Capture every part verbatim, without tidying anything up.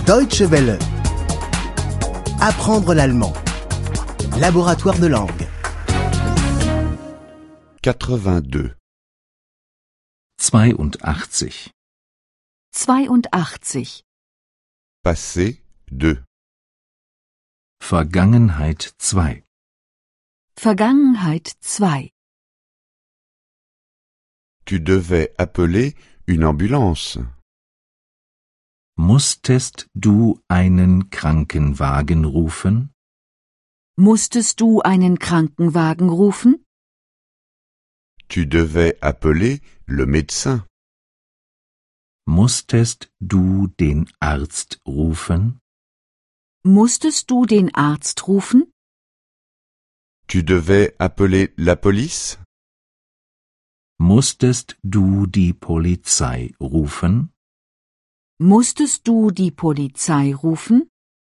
Deutsche Welle. Apprendre l'allemand. Laboratoire de langue. quatre-vingt-deux. zweiundachtzig. zweiundachtzig. Passé deux. Vergangenheit zwei. Vergangenheit zwei. Tu devais appeler une ambulance. Musstest du einen Krankenwagen rufen? Musstest du einen Krankenwagen rufen? Tu devais appeler le médecin. Musstest du den Arzt rufen? Musstest du den Arzt rufen? Tu devais appeler la police. Musstest du die Polizei rufen? Musstest du die Polizei rufen?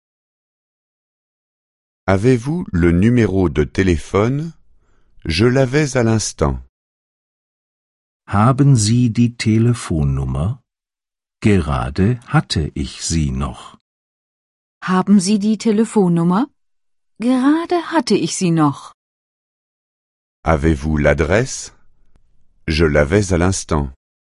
Avez-vous le numéro de téléphone? Je l'avais à l'instant. Haben Sie die Telefonnummer? Gerade hatte ich sie noch. Haben Sie die Telefonnummer? Gerade hatte ich sie noch. Avez-vous l'adresse? Je l'avais à l'instant.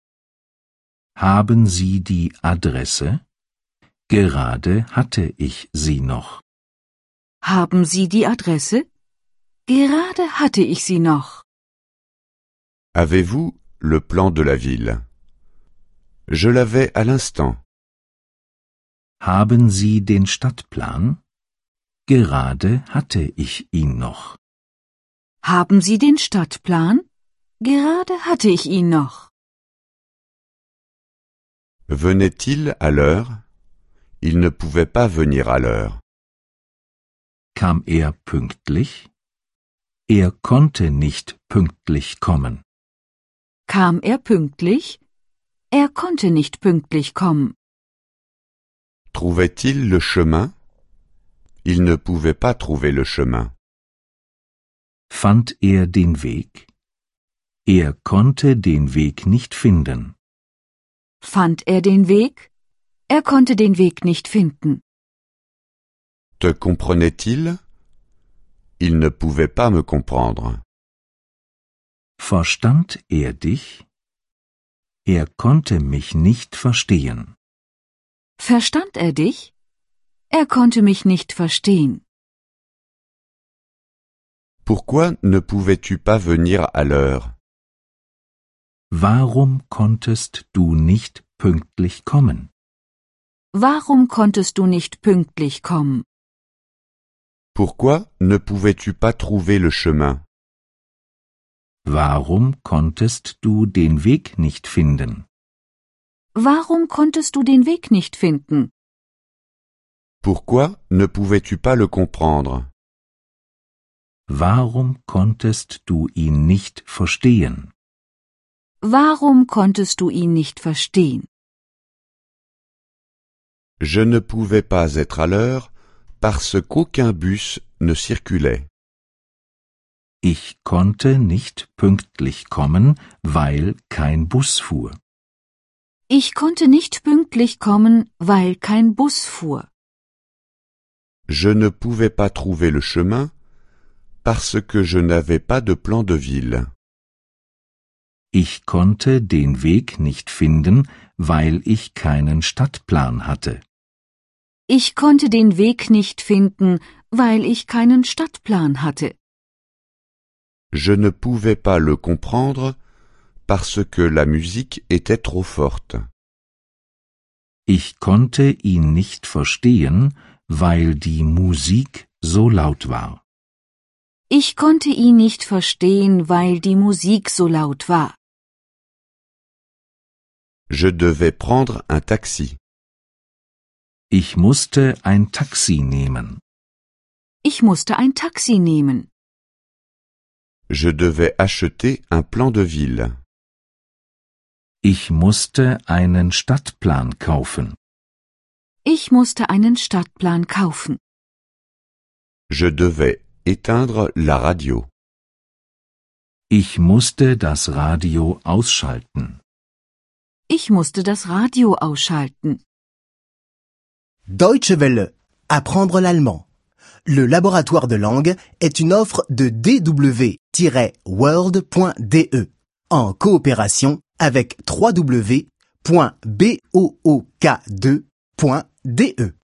Haben Sie die Adresse? Gerade hatte ich sie noch. Haben Sie die Adresse? Gerade hatte ich sie noch. Avez-vous le plan de la ville? Je l'avais à l'instant. Haben Sie den Stadtplan? Gerade hatte ich ihn noch. Haben Sie den Stadtplan? Gerade hatte ich ihn noch. Venait-il à l'heure? Il ne pouvait pas venir à l'heure. Kam er pünktlich? Er konnte nicht pünktlich kommen. Kam er pünktlich? Er konnte nicht pünktlich kommen. Trouvait-il le chemin? Il ne pouvait pas trouver le chemin. Fand er den Weg? Er konnte den Weg nicht finden. Fand er den Weg? Er konnte den Weg nicht finden. Te comprenait-il? Il ne pouvait pas me comprendre. Verstand er dich? Er konnte mich nicht verstehen. Verstand er dich? Er konnte mich nicht verstehen. Pourquoi ne pouvais-tu pas venir à l'heure? Warum konntest du nicht pünktlich kommen? Warum konntest du nicht pünktlich kommen? Pourquoi ne pouvais-tu pas trouver le chemin? Warum konntest du den Weg nicht finden? Warum konntest du den Weg nicht finden? Pourquoi ne pouvais-tu pas le comprendre? Warum konntest du ihn nicht verstehen? Warum konntest du ihn nicht verstehen? Je ne pouvais pas être à l'heure parce qu'aucun bus ne circulait. Ich konnte nicht pünktlich kommen, weil kein Bus fuhr. Ich konnte nicht pünktlich kommen, weil kein Bus fuhr. Je ne pouvais pas trouver le chemin parce que je n'avais pas de plan de ville. Ich konnte den Weg nicht finden, weil ich keinen Stadtplan hatte. Ich konnte den Weg nicht finden, weil ich keinen Stadtplan hatte. Je ne pouvais pas le comprendre parce que la musique était trop forte. Ich konnte ihn nicht verstehen, weil die Musik so laut war. Ich konnte ihn nicht verstehen, weil die Musik so laut war. Je devais prendre un taxi. Ich musste ein Taxi nehmen. Ich musste ein Taxi nehmen. Je devais acheter un plan de ville. Ich musste einen Stadtplan kaufen. Ich musste einen Stadtplan kaufen. Je devais éteindre la radio. Ich musste das Radio ausschalten. Ich musste das Radio ausschalten. Deutsche Welle. Apprendre l'allemand. Le laboratoire de langue est une offre de d w tiret world point d e en coopération avec w w w point book deux point d e.